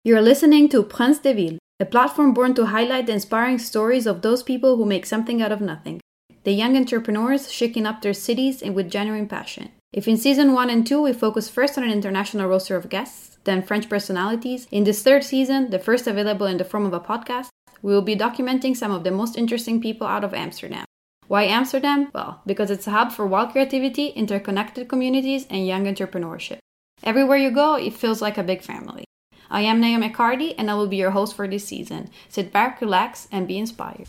You're listening to Prince de Ville, a platform born to highlight the inspiring stories of those people who make something out of nothing. The young entrepreneurs shaking up their cities and with genuine passion. If in season 1 and 2 we focus first on an international roster of guests, then French personalities, in this third season, the first available in the form of a podcast, we will be documenting some of the most interesting people out of Amsterdam. Why Amsterdam? Well, because it's a hub for wild creativity, interconnected communities, and young entrepreneurship. Everywhere you go, it feels like a big family. I am Naomi McCarty, and I will be your host for this season. Sit back, relax, and be inspired.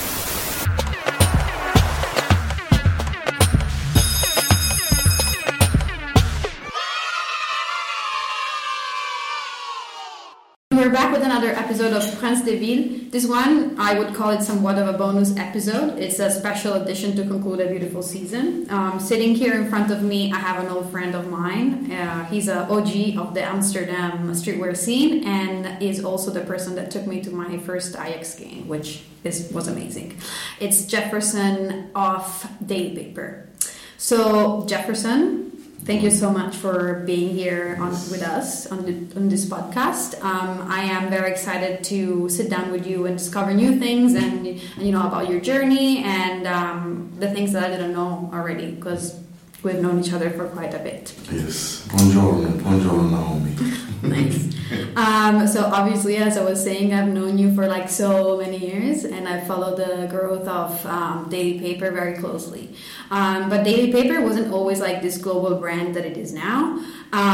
We're back with another episode of Prince de Ville. This one, I would call it somewhat of a bonus episode. It's a special edition to conclude a beautiful season. Sitting here in front of me, I have an old friend of mine. He's an OG of the Amsterdam streetwear scene and is also the person that took me to my first Ajax game, which was amazing. It's Jefferson of Daily Paper. So, Jefferson, thank you so much for being here with us on this podcast. I am very excited to sit down with you and discover new things and about your journey and the things that I didn't know already because we've known each other for quite a bit. Yes. Buongiorno, Naomi. Nice. So obviously, as I was saying, I've known you for like so many years and I followed the growth of Daily Paper very closely. But Daily Paper wasn't always like this global brand that it is now.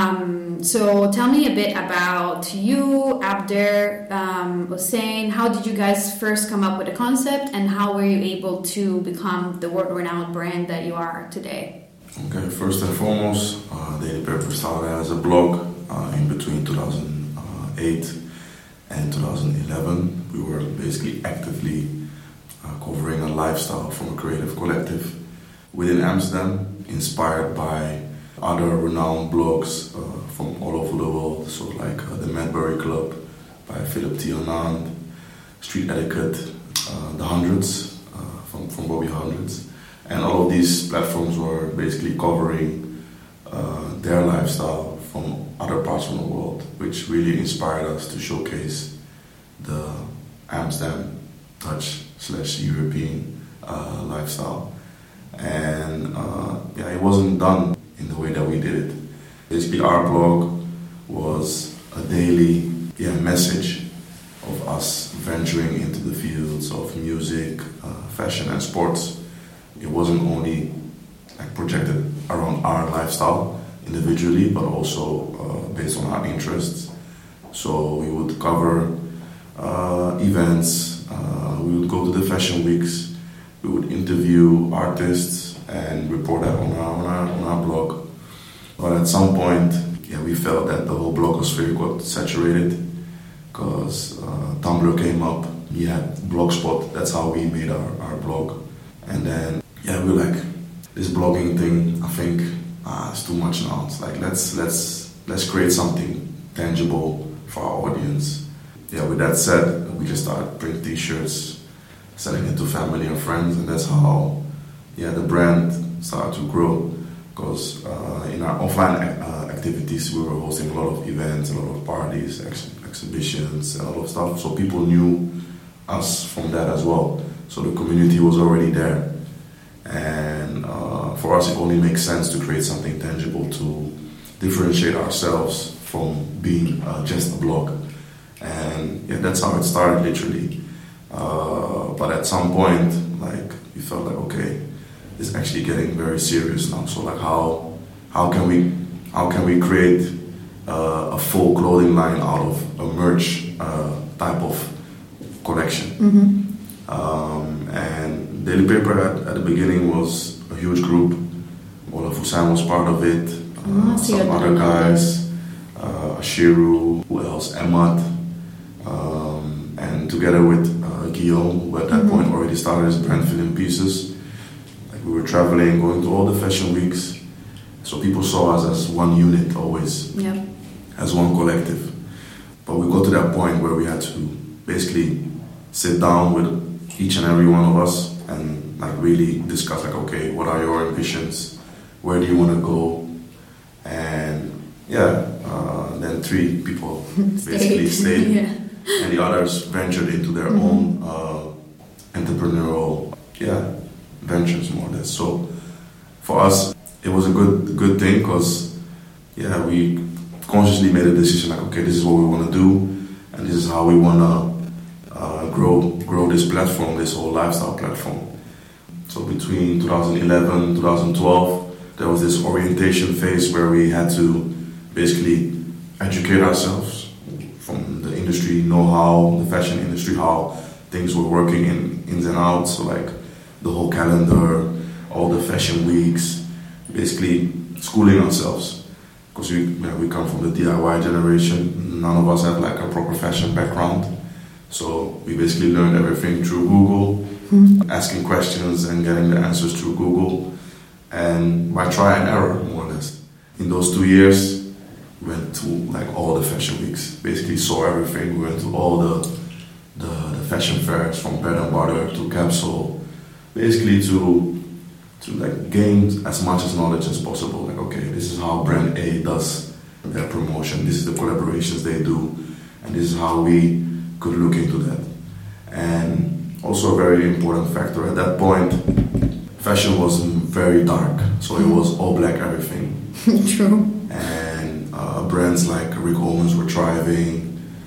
So tell me a bit about you, Abder, Hossein. How did you guys first come up with the concept and how were you able to become the world-renowned brand that you are today? Okay, first and foremost, Daily Paper started as a blog in between 2008 and 2011. We were basically actively covering a lifestyle from a creative collective within Amsterdam, inspired by other renowned blogs from all over the world. So like the Madbury Club by Philip T. Anand, Street Etiquette, The Hundreds from Bobby Hundreds. And all of these platforms were basically covering their lifestyle from other parts of the world, which really inspired us to showcase the Amsterdam Dutch/European lifestyle. And it wasn't done in the way that we did it. Basically, our blog was a daily message of us venturing into the fields of music, fashion, and sports. It wasn't only like projected around our lifestyle individually, but also based on our interests. So we would cover events, we would go to the fashion weeks, we would interview artists and report that on our blog. But at some point, we felt that the whole blogosphere got saturated because Tumblr came up. We had Blogspot. That's how we made our blog. And then we were like, this blogging thing, I think it's too much now. It's like let's create something tangible for our audience. With that said, we just started printing t-shirts, selling it to family and friends, and that's how the brand started to grow. Because in our offline activities, we were hosting a lot of events, a lot of parties, exhibitions, and a lot of stuff. So people knew us from that as well. So the community was already there. And for us, it only makes sense to create something tangible to differentiate ourselves from being just a blog. And that's how it started, literally. But at some point, we felt like, okay, it's actually getting very serious now. So how can we create a full clothing line out of a merch type of collection? Mm-hmm. And Daily Paper at the beginning was a huge group. Olaf Hussein was part of it. Some other guys, Shiru, who else? Emad, and together with Guillaume, who at that point already started his brand Filling Pieces. We were traveling, going to all the fashion weeks, so people saw us as one unit always, as one collective. But we got to that point where we had to basically sit down with each and every one of us and really discuss okay, what are your ambitions? Where do you want to go? And then 3 people basically stayed, yeah. and the others ventured into their own entrepreneurial ventures, more or less. So for us, it was a good thing because we consciously made a decision like, okay, this is what we want to do, and this is how we want to grow this platform, this whole lifestyle platform. So between 2011 2012, there was this orientation phase where we had to basically educate ourselves from the industry know-how, the fashion industry, how things were working ins and outs, so like the whole calendar, all the fashion weeks, basically schooling ourselves. Because we come from the DIY generation, none of us had like a proper fashion background. So we basically learned everything through Google, asking questions and getting the answers through Google, and by try and error, more or less. In those 2 years, we went to like all the fashion weeks, basically saw everything. We went to all the fashion fairs, from Bread and Butter to Capsule, basically to like gain as much as knowledge as possible. Like, okay, this is how brand A does their promotion, this is the collaborations they do, and this is how we could look into that. And also a very important factor, at that point, fashion was very dark, so it was all black everything. True. And brands like Rick Owens were thriving.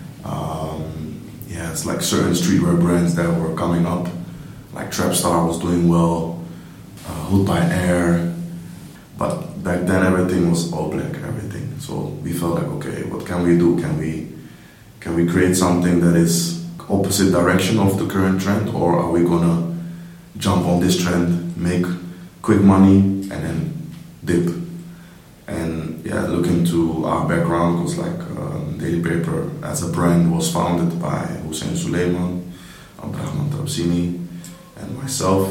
It's like certain streetwear brands that were coming up, like Trapstar was doing well, Hood by Air. But back then everything was all black, everything. So we felt like, okay, what can we do? Can we create something that is opposite direction of the current trend, or are we gonna jump on this trend, make quick money, and then dip? And looking to our background, was like Daily Paper as a brand was founded by Hussein Suleiman, Abdrahman Trabzini, and myself.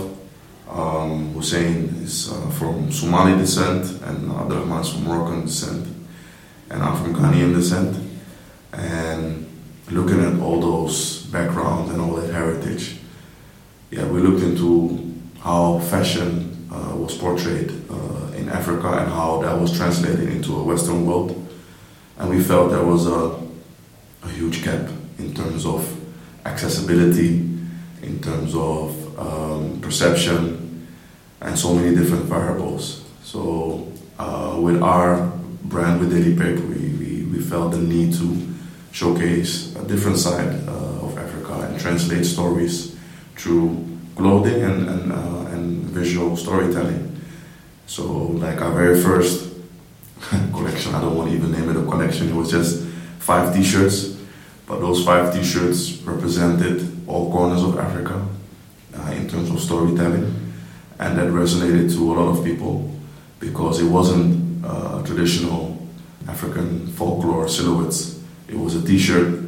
Hussein is from Somali descent, and Abdrahman is from Moroccan descent, and I'm from Ghanaian descent. And looking at all those backgrounds and all that heritage, we looked into how fashion was portrayed in Africa and how that was translated into a Western world. And we felt there was a huge gap in terms of accessibility, in terms of perception, and so many different variables. So with our brand, with Daily Paper, we felt the need to showcase a different side of Africa and translate stories through clothing and visual storytelling. So like our very first collection, I don't want to even name it a collection, it was just 5 t-shirts, but those 5 t-shirts represented all corners of Africa in terms of storytelling, and that resonated to a lot of people because it wasn't traditional African folklore silhouettes. It was a t-shirt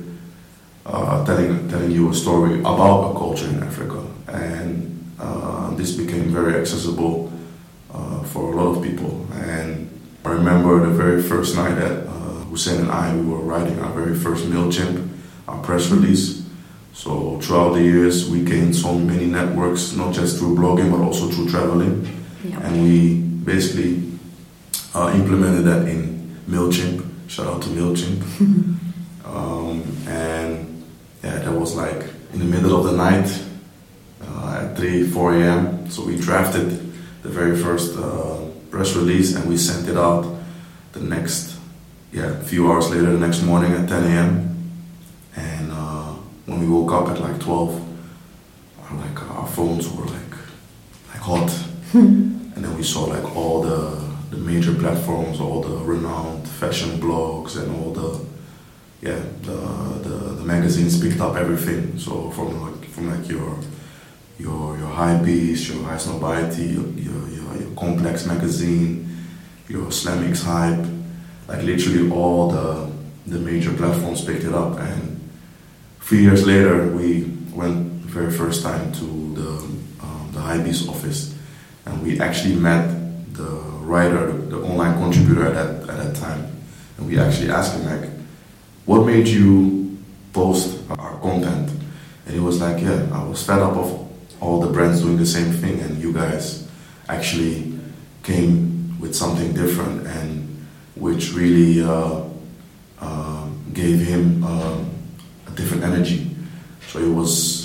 telling you a story about a culture in Africa, and this became very accessible for a lot of people. And I remember the very first night that Hussein and I, we were writing our very first MailChimp, our press release. So throughout the years, we gained so many networks, not just through blogging, but also through traveling. Yep. And we basically implemented that in MailChimp. Shout out to MailChimp. That was like in the middle of the night at 4 a.m. So we drafted the very first press release and we sent it out the next, a few hours later, the next morning at 10 a.m. And when we woke up at like 12, our phones were like hot. And then we saw like all the major platforms, all the renowned fashion blogs and all the magazines picked up everything. So from your Hypebeast, your High Snobiety, your Complex magazine, your Slamix Hype, like literally all the major platforms picked it up. And 3 years later, we went the very first time to the Hypebeast office, and we actually met the writer, the online contributor at that time, and we actually asked him like, what made you post our content? And he was like, I was fed up of all the brands doing the same thing, and you guys actually came with something different and which really gave him a different energy. So it was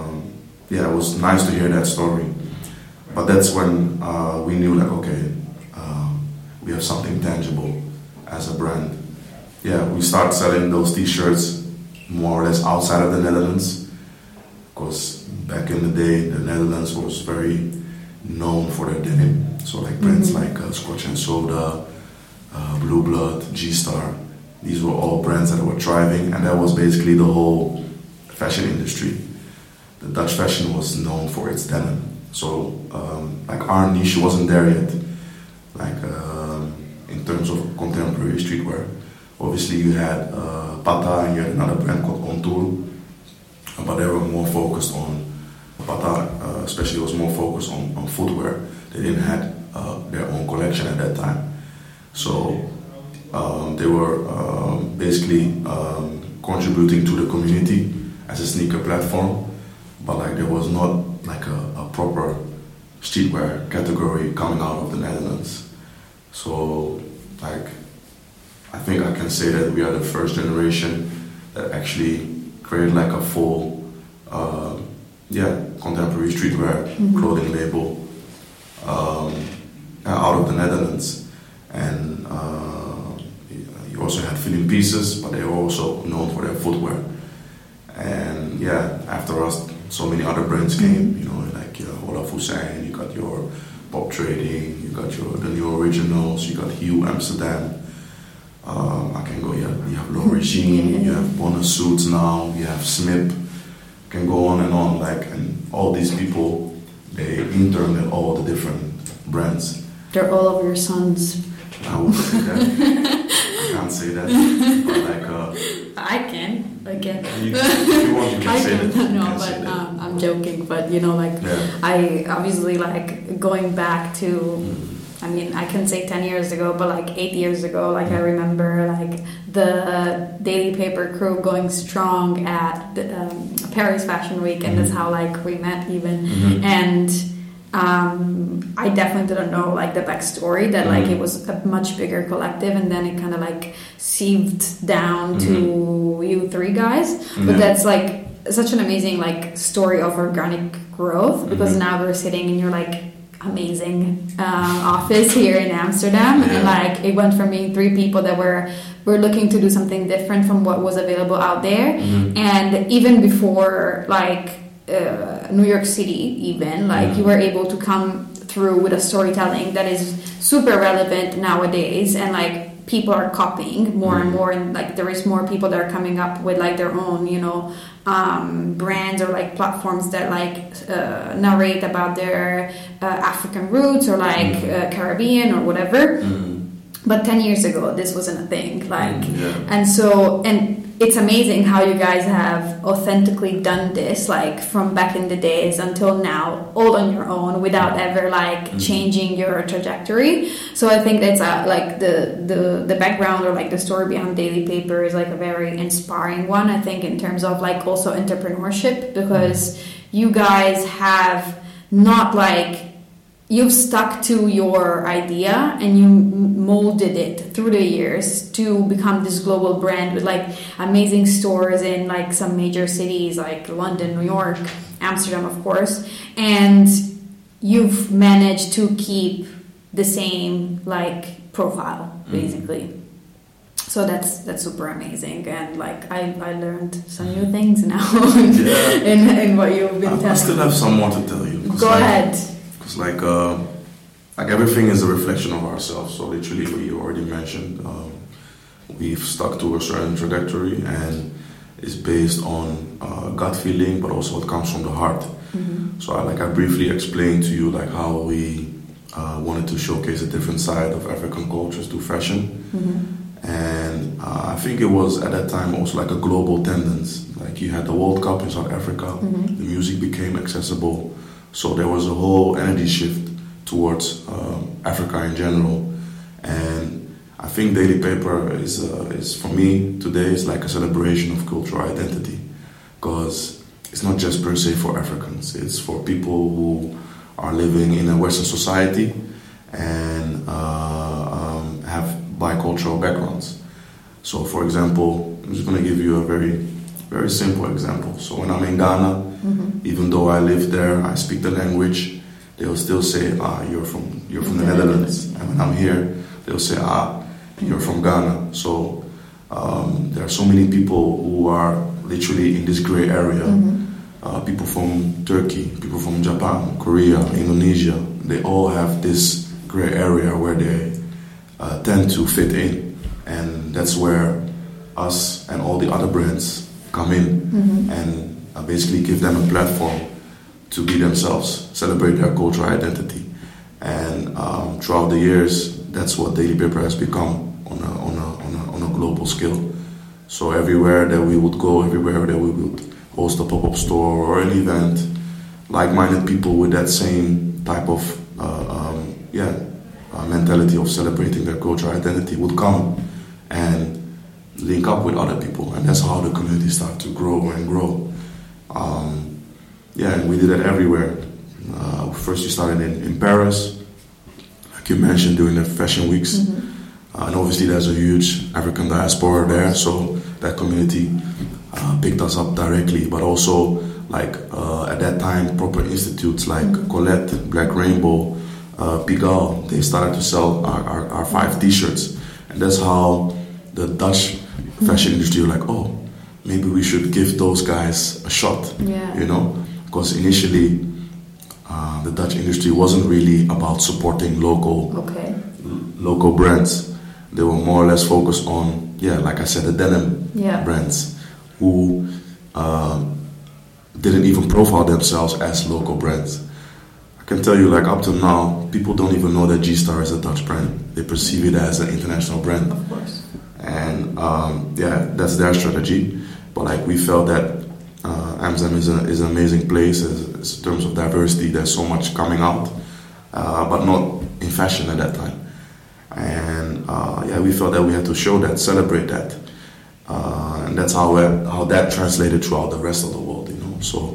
nice to hear that story. But that's when we knew, like, okay, we have something tangible as a brand. Yeah, we started selling those T-shirts more or less outside of the Netherlands, because back in the day, the Netherlands was very known for their denim. So like brands like Scotch and Soda, Blue Blood, G-Star, these were all brands that were thriving, and that was basically the whole fashion industry. The Dutch fashion was known for its denim. So like our niche wasn't there yet, like in terms of contemporary streetwear. Obviously you had Pata and you had another brand called Contour, but they were more focused on, Pata especially was more focused on footwear. They didn't have their own collection at that time. So they were basically contributing to the community as a sneaker platform, but like there was not like a proper streetwear category coming out of the Netherlands. So like I think I can say that we are the first generation that actually created like a full contemporary streetwear clothing label out of the Netherlands. And you also had Feeling Pieces, but they were also known for their footwear. And yeah, after us, so many other brands came, you know, like Olaf Hussein, you got your Pop Trading, you got the New Originals, you got Hue Amsterdam. I can go, you have L'Origine, you have Bonus Suits now, you have Smip, can go on, like, and all these people, they interned at all the different brands. They're all of your sons. I would say that. I can't say that, but like... I can. If you want, you can say that. No, but I'm joking. But you know, like, I obviously like going back to. I mean, I can say 10 years ago, but like 8 years ago, like I remember like the Daily Paper crew going strong at the, Paris Fashion Week, and that's how like we met even. And I definitely didn't know like the backstory that like it was a much bigger collective, and then it kind of like sieved down to you three guys. But that's like such an amazing like story of organic growth, because now we're sitting in your like amazing office here in Amsterdam, and like it went from being three people that were looking to do something different from what was available out there, and even before like New York City, even like you were able to come through with a storytelling that is super relevant nowadays, and like people are copying more and more, and like there is more people that are coming up with like their own, you know, brands or like platforms that like narrate about their African roots or like Caribbean or whatever. But 10 years ago, this wasn't a thing. Like, and so, and it's amazing how you guys have authentically done this, like from back in the days until now, all on your own without ever like changing your trajectory. So I think that's like the background or like the story behind Daily Paper is like a very inspiring one, I think, in terms of like also entrepreneurship, because you guys have not like, you've stuck to your idea and you molded it through the years to become this global brand with like amazing stores in like some major cities like London, New York, Amsterdam, of course. And you've managed to keep the same like profile, basically. So that's super amazing, and like I learned some new things now in what you've been telling. I still have some more to tell you. Go ahead. It's like everything is a reflection of ourselves. So literally, what you already mentioned, we've stuck to a certain trajectory, and it's based on gut feeling, but also what comes from the heart. So I briefly explained to you like how we wanted to showcase a different side of African cultures through fashion. And I think it was at that time also like a global tendency. Like you had the World Cup in South Africa, the music became accessible. So there was a whole energy shift towards Africa in general, and I think Daily Paper is for me today is like a celebration of cultural identity, because it's not just per se for Africans. It's for people who are living in a Western society and have bicultural backgrounds. So, for example, I'm just going to give you a very, very simple example. So when I'm in Ghana, even though I live there, I speak the language, they will still say, you're from the Netherlands. And when I'm here, they'll say, you're from Ghana. So there are so many people who are literally in this gray area. People from Turkey, people from Japan, Korea, Indonesia, they all have this gray area where they tend to fit in. And that's where us and all the other brands come in and basically give them a platform to be themselves, celebrate their cultural identity. And throughout the years, that's what Daily Paper has become on a global scale. So everywhere that we would go, everywhere that we would host a pop-up store or an event, like-minded people with that same type of mentality of celebrating their cultural identity would come and link up with other people, and that's how the community started to grow and grow. And we did it everywhere. First we started in Paris, like you mentioned, during the fashion weeks. And obviously there's a huge African diaspora there, so that community picked us up directly. But also, like at that time, proper institutes like Colette, Black Rainbow, Pigalle, they started to sell our 5 t-shirts. And that's how the Dutch fashion industry were like, oh, maybe we should give those guys a shot, you know? Because initially, the Dutch industry wasn't really about supporting local brands. They were more or less focused on, like I said, the denim brands who didn't even profile themselves as local brands. I can tell you, like up to now, people don't even know that G-Star is a Dutch brand. They perceive it as an international brand. Of course. And that's their strategy. But like we felt that Amsterdam is an amazing place in terms of diversity. There's so much coming out, but not in fashion at that time. And we felt that we had to show that, celebrate that, and that's how that translated throughout the rest of the world, you know. So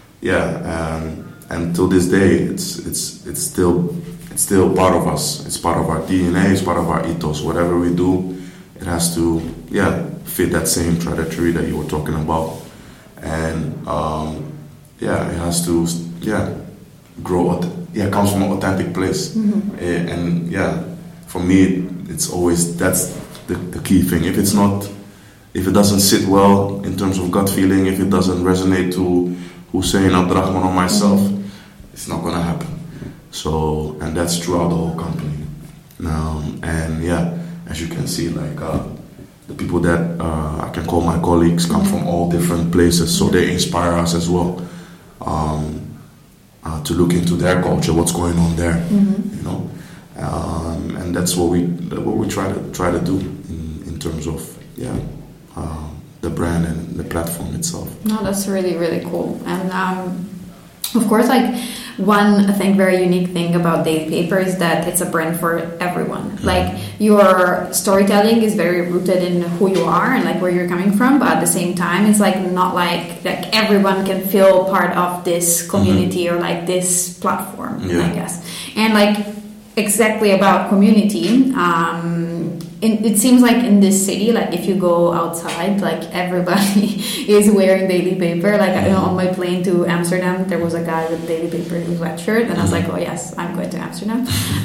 and till this day, it's still part of us. It's part of our DNA. It's part of our ethos. Whatever we do, it has to fit that same trajectory that you were talking about, and it has to grow. It comes from an authentic place, and for me, it's always that's the key thing. If it doesn't sit well in terms of gut feeling, if it doesn't resonate to Hussein, Abdurrahman, or myself, it's not gonna happen. So, and that's throughout the whole company. As you can see, like the people that I can call my colleagues come from all different places, so they inspire us as well to look into their culture, what's going on there, you know. And that's what we try to do in terms of the brand and the platform itself. No, that's really, really cool. And of course, like one, I think, very unique thing about Daily Paper is that it's a brand for everyone. Like your storytelling is very rooted in who you are and like where you're coming from, but at the same time, it's like not like everyone can feel part of this community or like this platform, I guess. And like exactly about community, it seems like in this city, like if you go outside, like everybody is wearing Daily Paper. Like on my plane to Amsterdam, there was a guy with Daily Paper in his sweatshirt, and I was like, oh yes, I'm going to Amsterdam.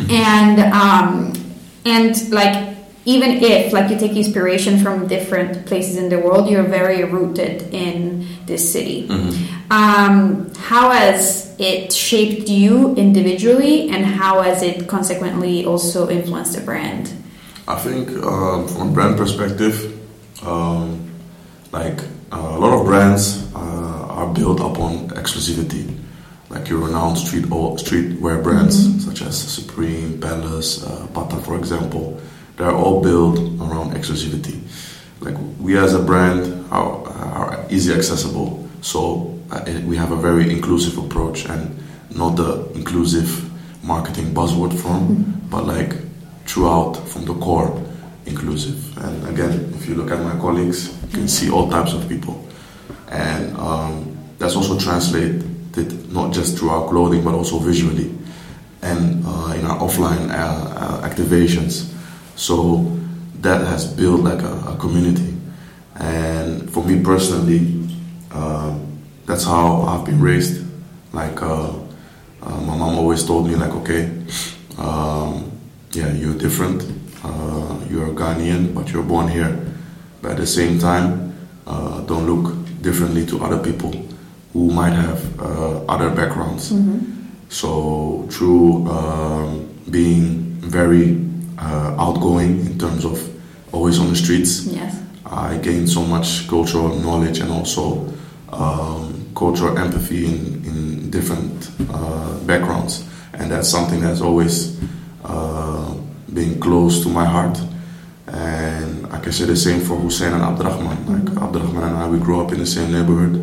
And like even if like you take inspiration from different places in the world, you're very rooted in this city. How has it shaped you individually, and how has it consequently also influenced the brand? I think from a brand perspective, like a lot of brands are built upon exclusivity. Like your renowned streetwear brands such as Supreme, Palace, Bata, for example, they're all built around exclusivity. Like we as a brand are easy accessible, so we have a very inclusive approach, and not the inclusive marketing buzzword form, but like throughout from the core inclusive. And again, if you look at my colleagues, you can see all types of people, and that's also translated not just through our clothing but also visually and in our offline activations. So that has built like a community, And for me personally, that's how I've been raised. Like my mom always told me, like, okay, yeah, you're different. You're Ghanaian, but you're born here. But at the same time, don't look differently to other people who might have other backgrounds. So through being very outgoing in terms of always on the streets, Yes. I gained so much cultural knowledge and also cultural empathy in different backgrounds, and that's something that's always been close to my heart. And I can say the same for Hussein and Abdurrahman. Like Abdurrahman and I, we grew up in the same neighborhood.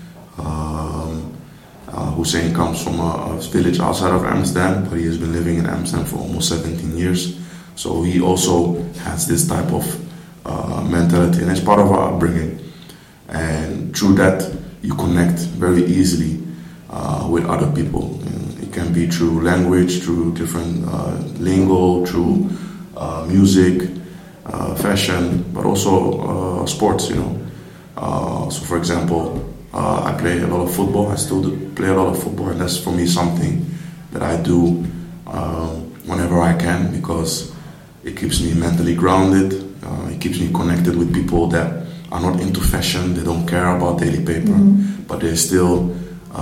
Hussein comes from a village outside of Amsterdam, but he has been living in Amsterdam for almost 17 years. So he also has this type of mentality, and it's part of our upbringing. And through that, you connect very easily with other people. It can be through language, through different lingo, through music, fashion, but also sports, you know. So for example, I play a lot of football. I still play a lot of football, and that's for me something that I do whenever I can, because it keeps me mentally grounded. It keeps me connected with people that are not into fashion. They don't care about daily paper, but they still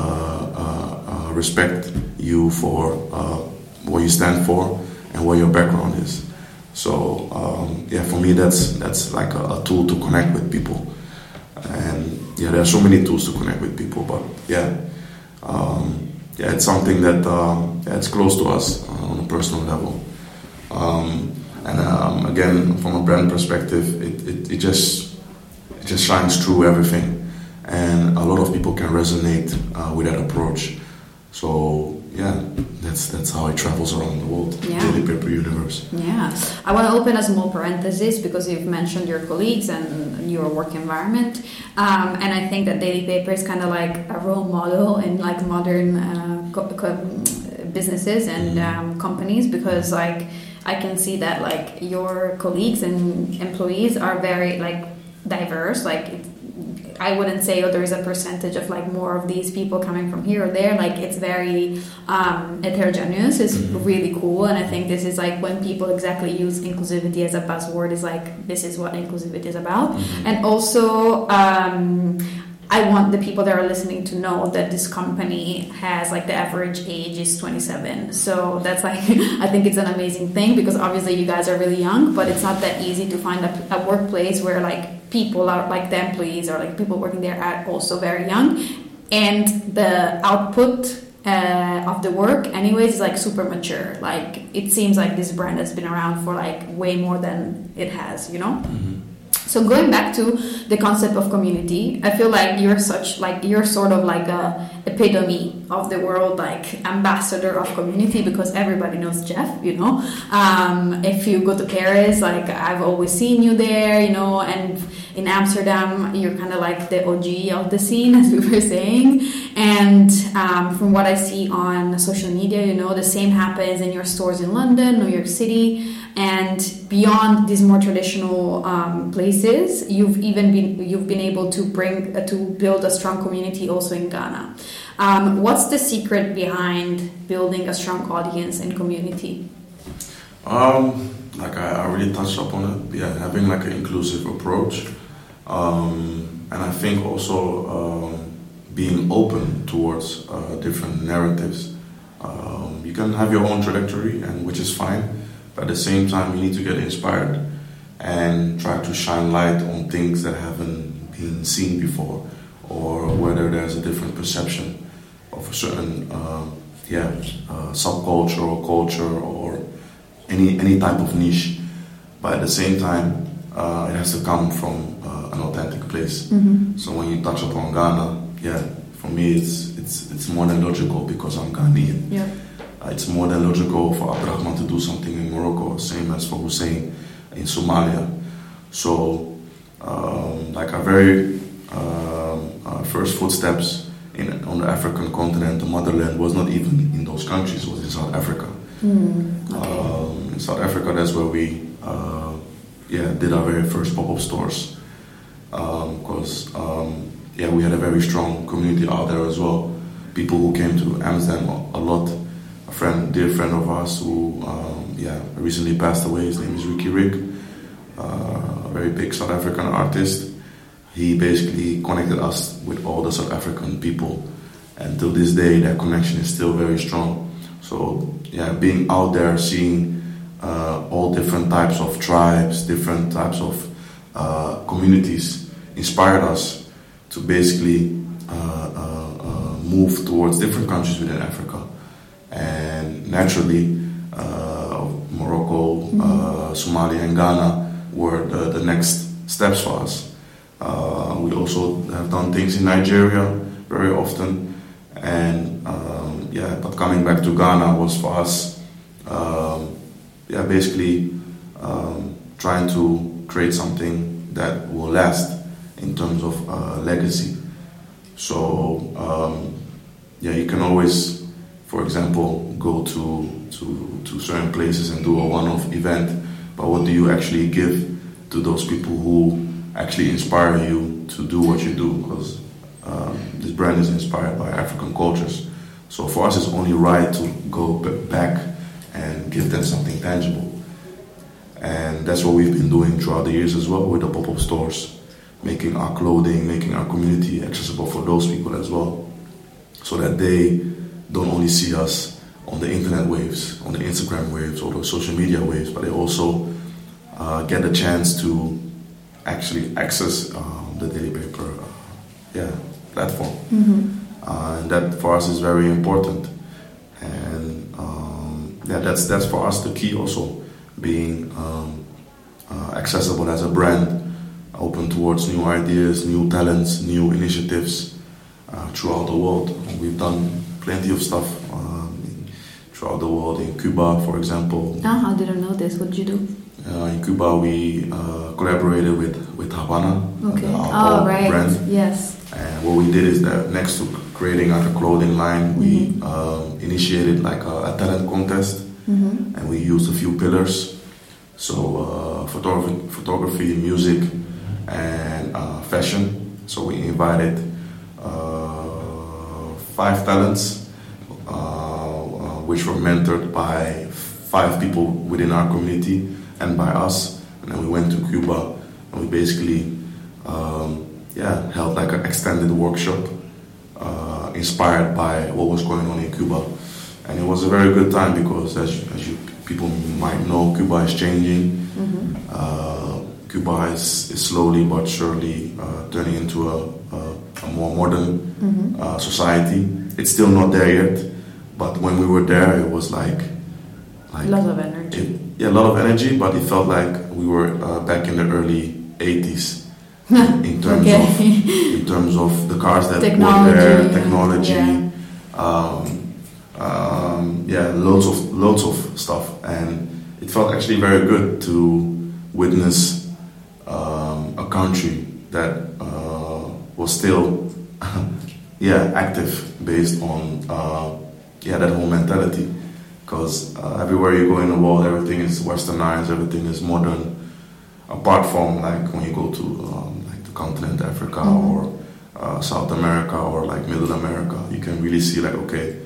respect you for what you stand for and what your background is. So yeah, for me that's like a tool to connect with people. And yeah, there are so many tools to connect with people, but yeah, it's something that it's close to us on a personal level. And again, from a brand perspective, it just shines through everything, and a lot of people can resonate with that approach. So yeah, that's how it travels around the world. Yeah. Daily Paper universe. Yeah, I want to open a small parenthesis because you've mentioned your colleagues and your work environment, and I think that Daily Paper is kind of like a role model in like modern businesses and companies, because like I can see that like your colleagues and employees are very like diverse. Like I wouldn't say there is a percentage of like more of these people coming from here or there. Like it's very heterogeneous. It's really cool, and I think this is like when people exactly use inclusivity as a buzzword, is like this is what inclusivity is about. And also I want the people that are listening to know that this company has like the average age is 27. So that's like I think it's an amazing thing, because obviously you guys are really young, but it's not that easy to find a workplace where like people are like the employees or like people working there are also very young, and the output of the work anyways is like super mature. Like it seems like this brand has been around for like way more than it has, you know. So going back to the concept of community, I feel like you're sort of like a epitome of the world, like ambassador of community, because everybody knows Jeff, you know. If you go to Paris, like I've always seen you there, you know, and in Amsterdam, you're kind of like the OG of the scene, as we were saying. And from what I see on social media, you know, the same happens in your stores in London, New York City. And beyond these more traditional places, you've been able to build a strong community also in Ghana. What's the secret behind building a strong audience and community? Like I already touched upon it. Yeah, having like an inclusive approach, and I think also being open towards different narratives. You can have your own trajectory, and which is fine. At the same time, you need to get inspired and try to shine light on things that haven't been seen before, or whether there's a different perception of a certain subculture or culture or any type of niche. But at the same time, it has to come from an authentic place. So when you touch upon Ghana, for me it's more than logical because I'm Ghanaian. Yeah. It's more than logical for Abdurrahman to do something in Morocco, same as for Hussein in Somalia. So, like our very first footsteps on the African continent, the motherland, was not even in those countries, it was in South Africa. In South Africa, that's where we did our very first pop-up stores. because we had a very strong community out there as well. People who came to Amsterdam a lot. Dear friend of ours who recently passed away. His name is Ricky Rick, a very big South African artist. He basically connected us with all the South African people, and till this day that connection is still very strong. So being out there, seeing all different types of tribes, different types of communities inspired us to basically move towards different countries within Africa. And naturally, Morocco, Somalia, and Ghana were the next steps for us. We also have done things in Nigeria very often, and but coming back to Ghana was for us, basically trying to create something that will last in terms of legacy. So you can always, for example, go to certain places and do a one-off event, but what do you actually give to those people who actually inspire you to do what you do? Because this brand is inspired by African cultures. So for us, it's only right to go back and give them something tangible. And that's what we've been doing throughout the years as well with the pop-up stores, making our clothing, making our community accessible for those people as well, so that they don't only see us on the internet waves, on the Instagram waves or the social media waves, but they also get a chance to actually access the Daily Paper platform. And that for us is very important. And that's for us the key also, being accessible as a brand, open towards new ideas, new talents, new initiatives throughout the world. And we've done plenty of stuff throughout the world. In Cuba, for example. I didn't know this. What did you do? In Cuba, we collaborated with Havana, our right. brand. Yes. And what we did is that next to creating like a clothing line, we initiated like a talent contest, and we used a few pillars. So photography, music, and fashion. So we invited 5 talents, which were mentored by 5 people within our community and by us. And then we went to Cuba, and we basically held like an extended workshop inspired by what was going on in Cuba. And it was a very good time because, as you people might know, Cuba is changing. Cuba is slowly but surely turning into a more modern society. It's still not there yet, but when we were there, it was like a lot of energy. A lot of energy, but it felt like we were back in the early 80s in terms of the cars that were there, technology, loads of stuff, and it felt actually very good to witness a country that was still active based on that whole mentality. Because everywhere you go in the world, everything is westernized, everything is modern. Apart from like when you go to like the continent Africa or South America or like Middle America, you can really see like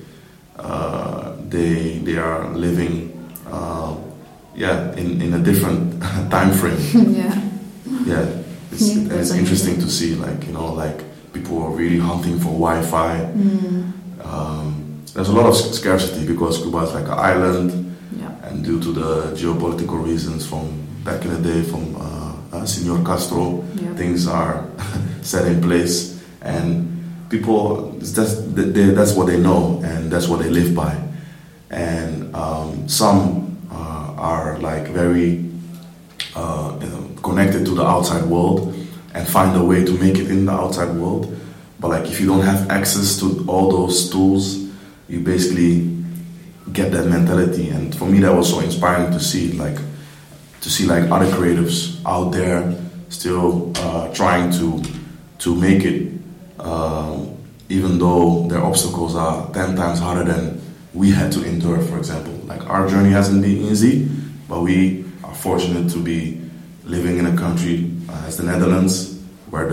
they are living in a different time frame. It's interesting to see like people are really hunting for Wi-Fi. There's a lot of scarcity because Cuba is like an island, and due to the geopolitical reasons from back in the day, from Senor Castro, things are set in place, and people, that's what they know, and that's what they live by. And some are like very connected to the outside world and find a way to make it in the outside world. But like if you don't have access to all those tools, you basically get that mentality. And for me, that was so inspiring to see like other creatives out there still trying to make it, even though their obstacles are 10 times harder than we had to endure. For example, like our journey hasn't been easy, but we are fortunate to be living in a country as the Netherlands, where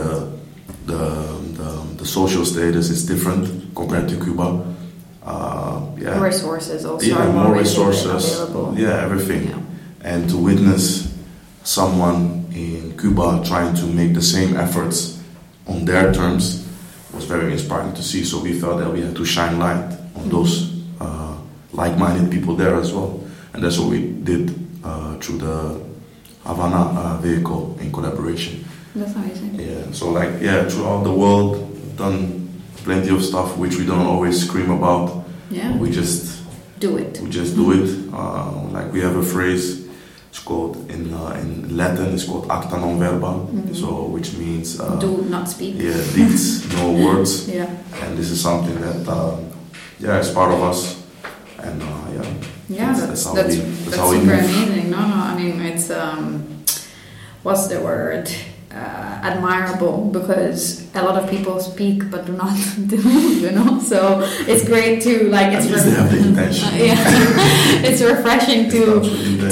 the social status is different compared to Cuba. Resources also. Yeah, more resources. Available. Yeah, everything. Yeah. And to witness someone in Cuba trying to make the same efforts on their terms was very inspiring to see. So we felt that we had to shine light on those like-minded people there as well. And that's what we did through the Havana vehicle in collaboration. That's amazing. Yeah, so throughout the world, we've done plenty of stuff which we don't always scream about. Yeah. We just do it. We just do it. We have a phrase. It's called in Latin. It's called acta non verba. So which means do not speak. Yeah, deeds, no words. Yeah. And this is something that is part of us. And that's how we super amazing. No, I mean it's what's the word? Admirable, because a lot of people speak but do not do, so it's great to it's they have the intention. It's refreshing to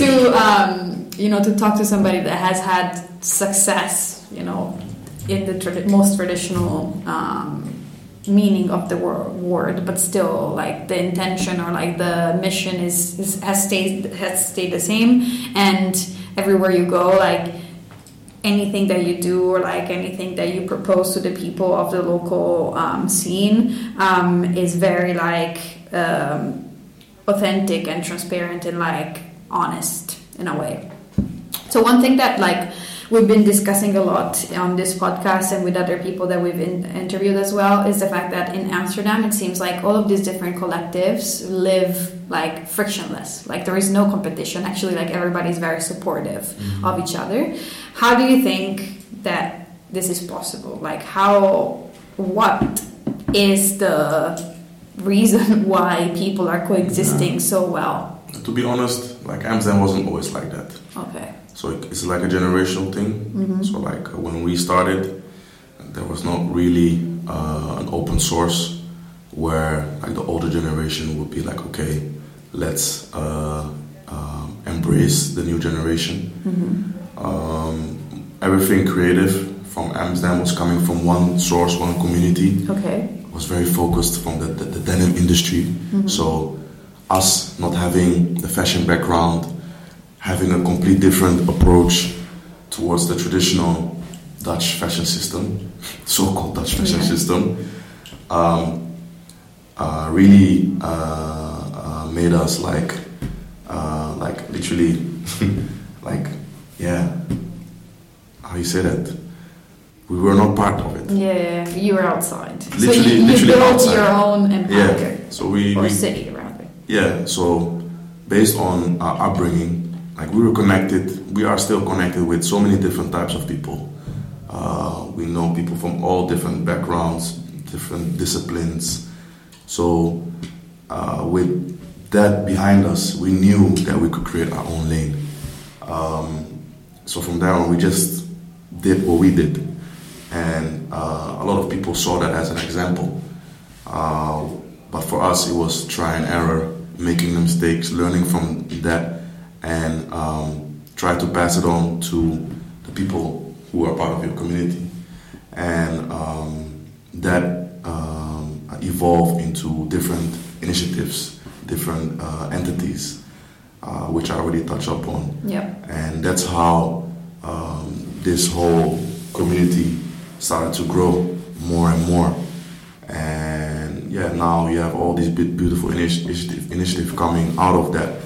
talk to somebody that has had success in the most traditional meaning of the word, but still the intention or the mission has stayed the same, and everywhere you go anything that you do or anything that you propose to the people of the local scene is very authentic and transparent and honest in a way. So one thing that we've been discussing a lot on this podcast and with other people that we've interviewed as well is the fact that in Amsterdam it seems all of these different collectives live frictionless. There is no competition. Actually, everybody's very supportive of each other. How do you think that this is possible? What is the reason why people are coexisting so well? To be honest, Amsterdam wasn't always like that. Okay. So it's a generational thing. So when we started, there was not really an open source where the older generation would be okay, let's embrace the new generation. Everything creative from Amsterdam was coming from one source, one community. Okay. It was very focused from the denim industry. So us not having the fashion background, having a complete different approach towards the traditional Dutch fashion system, so-called Dutch fashion system, really made us literally how you say that? We were not part of it. Yeah, you were outside. Literally, so you built outside. your own empire. Yeah. So we city rather. Yeah. So based on our upbringing, we were connected. We are still connected with so many different types of people. We know people from all different backgrounds, different disciplines. So with that behind us, we knew that we could create our own lane. So from there on, we just did what we did. And a lot of people saw that as an example. But for us, it was try and error, making the mistakes, learning from that, and try to pass it on to the people who are part of your community. And that evolved into different initiatives, different entities, which I already touched upon. Yep. And that's how this whole community started to grow more and more. And now you have all these beautiful initiative coming out of that.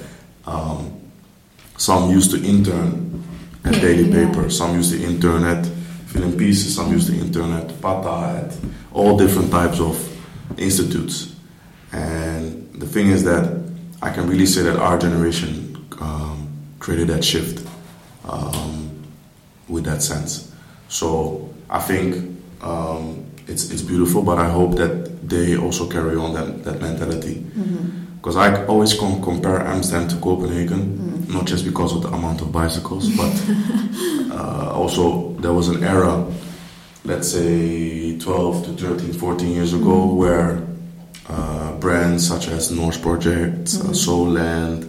Some used to intern at Daily Paper, some used to intern at Film Pieces, some used to intern at Pata, at all different types of institutes. And the thing is that I can really say that our generation created that shift with that sense. So I think it's beautiful, but I hope that they also carry on that mentality. Because I always compare Amsterdam to Copenhagen, not just because of the amount of bicycles, but also there was an era, let's say 12 to 13, 14 years ago, where brands such as Norse Project, Soulland,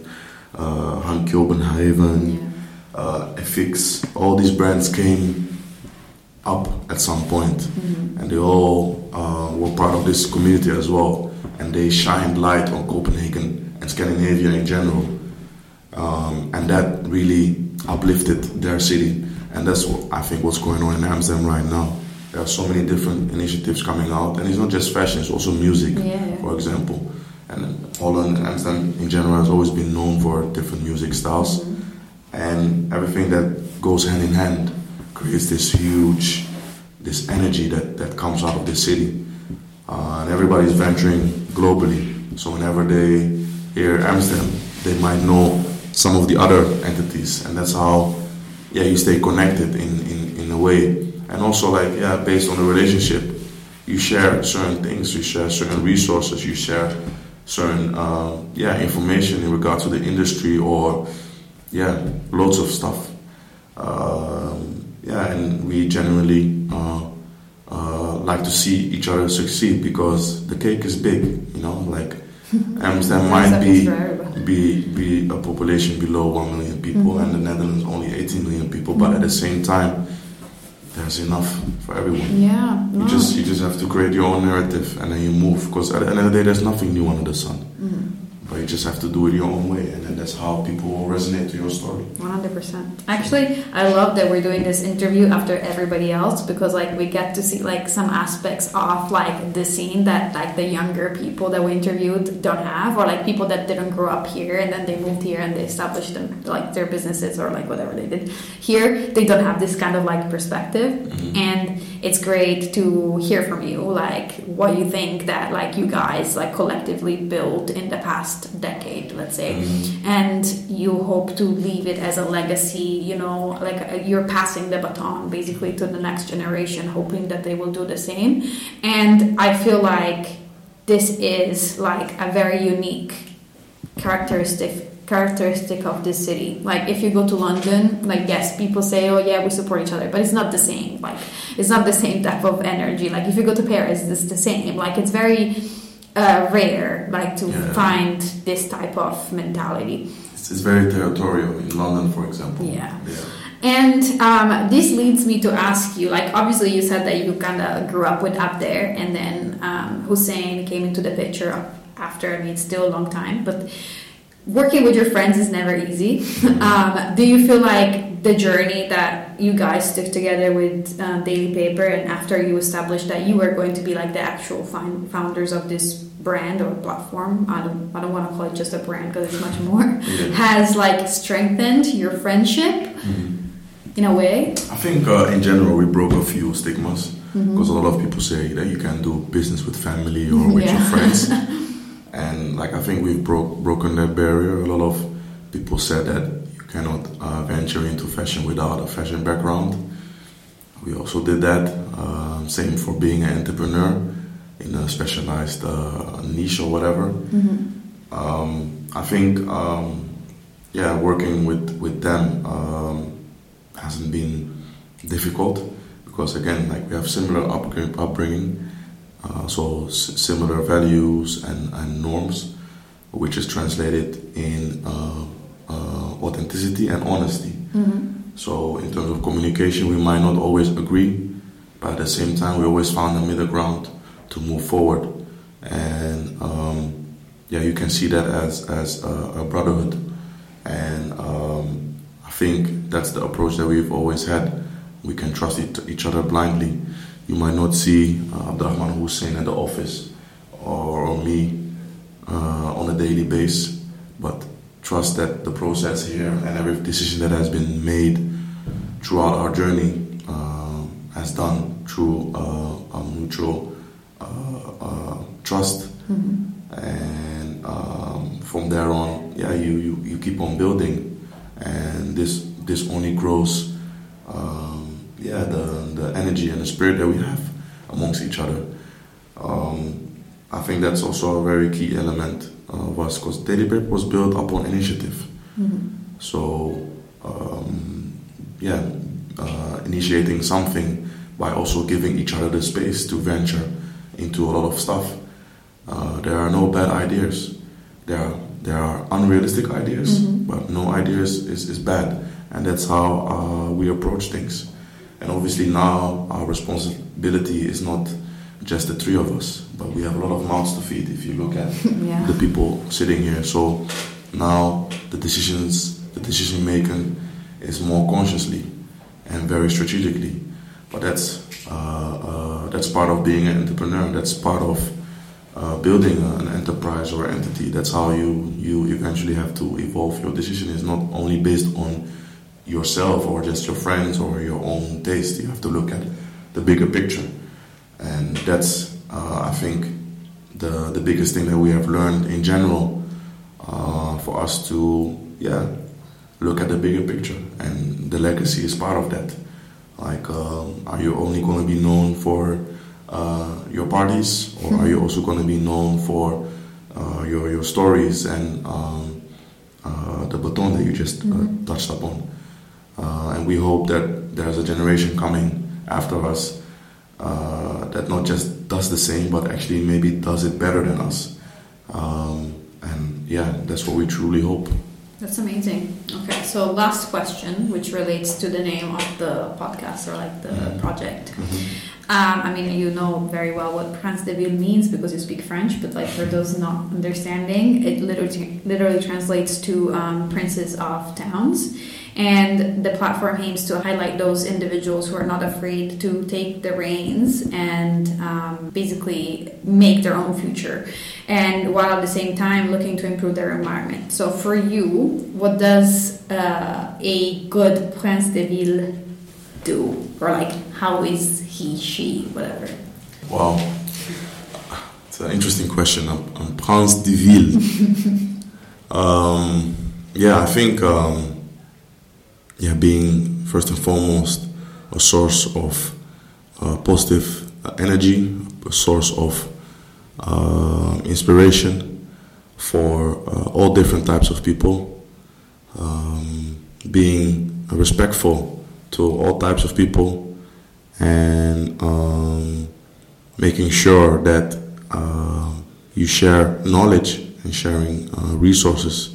Hank Copenhagen, FX, all these brands came up at some point, and they all were part of this community as well, and they shined light on Copenhagen and Scandinavia in general, and that really uplifted their city, and that's what I think what's going on in Amsterdam right now. There are so many different initiatives coming out, and it's not just fashion, it's also music, for example. And Holland and Amsterdam in general has always been known for different music styles, and everything that goes hand in hand creates this energy that comes out of the city. And everybody's venturing globally, so whenever they hear Amsterdam, they might know some of the other entities, and that's how you stay connected in a way. And also, based on the relationship, you share certain things, you share certain resources, you share certain information in regard to the industry, or loads of stuff. And we genuinely like to see each other succeed, because the cake is big, Amsterdam might be a population below 1 million people, and the Netherlands only 18 million people, but at the same time, there's enough for everyone. Yeah. No. You just have to create your own narrative, and then you move, because at the end of the day, there's nothing new under the sun. But you just have to do it your own way, and then that's how people will resonate to your story. 100%. Actually, I love that we're doing this interview after everybody else, because we get to see some aspects of the scene that the younger people that we interviewed don't have, or people that didn't grow up here and then they moved here and they established them their businesses or whatever they did here. They don't have this kind of perspective, and it's great to hear from you what you think that you guys collectively built in the past decade, let's say, and you hope to leave it as a legacy, you're passing the baton basically to the next generation, hoping that they will do the same. And I feel this is a very unique characteristic of this city. If you go to London, yes, people say, oh yeah, we support each other, but it's not the same. It's not the same type of energy. If you go to Paris, it's the same. It's very rare to find this type of mentality. It's very territorial in London, for example. And this leads me to ask you, obviously you said that you kind of grew up with Up There, and then Hussein came into the picture after. It's still a long time, but working with your friends is never easy. Do you feel the journey that you guys took together with Daily Paper, and after you established that you were going to be the actual founders of this brand or platform, I don't want to call it just a brand because it's much more, has strengthened your friendship in a way? I think in general we broke a few stigmas, because a lot of people say that you can do business with family or with your friends. And I think we've broken that barrier. A lot of people said that you cannot venture into fashion without a fashion background. We also did that. Same for being an entrepreneur in a specialized niche or whatever. I think, working with them hasn't been difficult, because again, we have similar upbringing. So similar values and norms, which is translated in authenticity and honesty. So in terms of communication, we might not always agree, but at the same time, we always found a middle ground to move forward. And you can see that as a brotherhood. And I think that's the approach that we've always had. We can trust each other blindly. You might not see Abdurrahman Hussein at the office or me on a daily basis, but trust that the process here and every decision that has been made throughout our journey has done through a mutual trust. And from there on, you keep on building, and this only grows. The energy and the spirit that we have amongst each other. I think that's also a very key element of us, because Daily Paper was built upon initiative. So, initiating something by also giving each other the space to venture into a lot of stuff. There are no bad ideas. There are unrealistic ideas, but no ideas is bad, and that's how we approach things. And obviously now our responsibility is not just the three of us, but we have a lot of mouths to feed if you look at Yeah. the people sitting here. So now the decision making is more consciously and very strategically. But that's part of being an entrepreneur. That's part of building an enterprise or entity. That's how you eventually have to evolve. Your decision is not only based on yourself or just your friends or your own taste. You have to look at the bigger picture. And that's, I think, the biggest thing that we have learned in general, for us to, look at the bigger picture. And the legacy is part of that. Like, are you only going to be known for your parties, or are you also going to be known for your stories and the baton that you just touched upon? And we hope that there's a generation coming after us that not just does the same, but actually maybe does it better than us. And that's what we truly hope. That's amazing. Okay, so last question, which relates to the name of the podcast or like the project. I mean, you know very well what Prince de Ville means because you speak French, but like for those not understanding, it literally translates to princes of towns. And the platform aims to highlight those individuals who are not afraid to take the reins and basically make their own future, and while at the same time looking to improve their environment. So for you, what does a good Prince de Ville do? Or like, how is he, she, whatever? Wow. It's an interesting question. I'm Prince de Ville. I think... being first and foremost a source of positive energy, a source of inspiration for all different types of people, being respectful to all types of people, and making sure that you share knowledge and sharing resources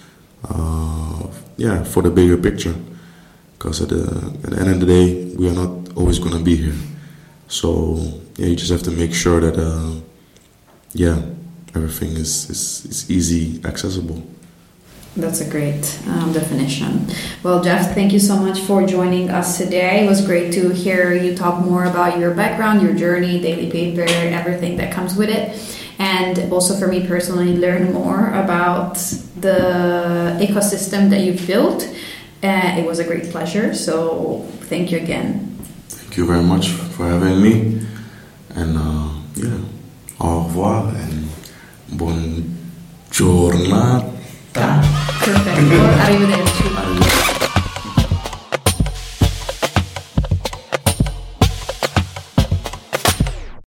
for the bigger picture. Because at the end of the day, we are not always going to be here. So, you just have to make sure that, everything is easy, accessible. That's a great definition. Well, Jeff, thank you so much for joining us today. It was great to hear you talk more about your background, your journey, daily paper, everything that comes with it. And also for me personally, learn more about the ecosystem that you've built. It was a great pleasure, so thank you again. Thank you very much for having me, and au revoir and buon giornata. Perfetto, arrivederci.